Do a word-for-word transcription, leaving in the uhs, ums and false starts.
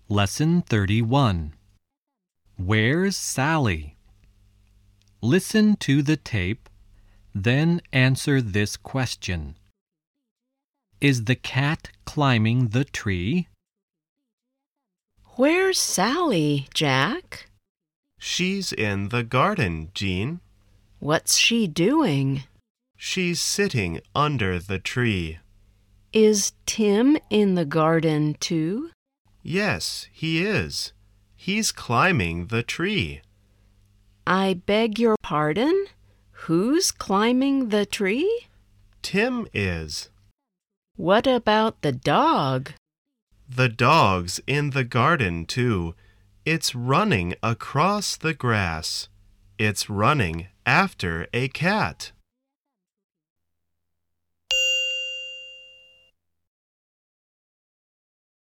Lesson thirty-one. Where's Sally? Listen to the tape, then answer this question. Is the cat climbing the tree? Where's Sally, Jack? She's in the garden, Jean. What's she doing? She's sitting under the tree. Is Tim in the garden too? Yes, he is. He's climbing the tree. I beg your pardon? Who's climbing the tree? Tim is. What about the dog? The dog's in the garden too. It's running across the grass. It's running after a cat.